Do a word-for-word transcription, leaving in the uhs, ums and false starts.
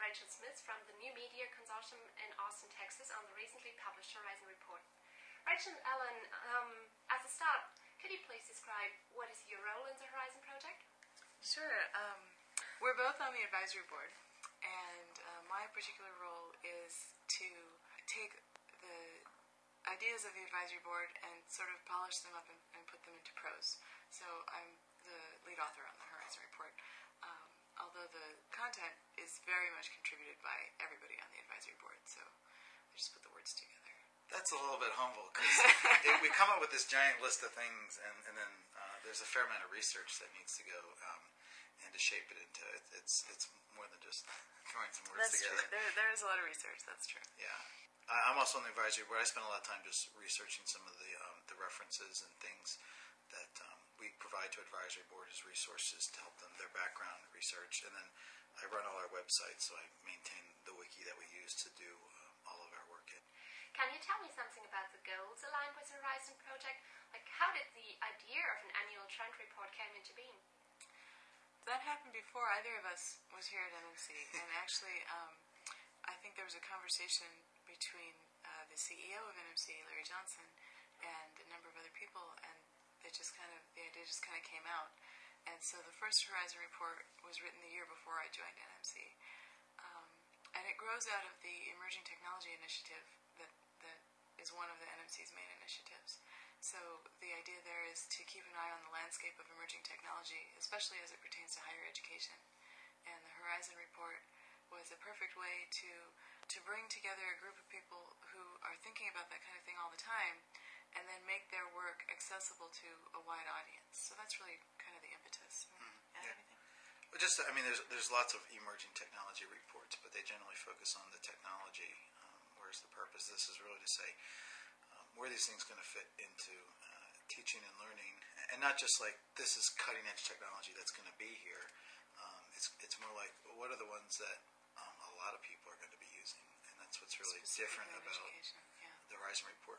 Rachel Smith from the New Media Consortium in Austin, Texas on the recently published Horizon Report. Rachel and Ellen, um, as a start, could you please describe what is your role in the Horizon project? Sure. Um, we're both on the advisory board, and uh, my particular role is to take the ideas of the advisory board and sort of polish them up and, and put them into prose. So I'm the lead author on the Horizon Report, um, although the content is very much contributed by everybody on the advisory board, so I just put the words together. That's a little bit humble, because we come up with this giant list of things, and, and then uh, there's a fair amount of research that needs to go um, and to shape it into it. It's it's more than just throwing some words that's together. True. There, there is a lot of research, that's true. Yeah. I, I'm also on the advisory board. I spend a lot of time just researching some of the um, the references and things that um, we provide to advisory board as resources to help them, their background research. And then I run all our websites, so I maintain the wiki that we use to do uh, all of our work in. Can you tell me something about the goals aligned with the Horizon project? Like, how did the idea of an annual trend report come into being? That happened before either of us was here at N M C, and actually um, I think there was a conversation between uh, the C E O of N M C, Larry Johnson, and a number of other people, and it just kind of, the idea just kind of came out. And so the first Horizon report was written the year before I joined N M C. Um, and it grows out of the Emerging Technology Initiative that, that is one of the N M C's main initiatives. So the idea there is to keep an eye on the landscape of emerging technology, especially as it pertains to higher education. And the Horizon report was a perfect way to, to bring together a group of people who are thinking about that kind of thing all the time, and then make their work accessible to a wide audience. So that's really kind of the impetus. Mm-hmm. Add Yeah. anything? Well, just, I mean, there's there's lots of emerging technology reports, but they generally focus on the technology. Um, where's the purpose? This is really to say um, where are these things going to fit into uh, teaching and learning, and not just like this is cutting edge technology that's going to be here. Um, it's it's more like what are the ones that um, a lot of people are going to be using, and that's what's really different Specifically in about education, yeah. the Horizon report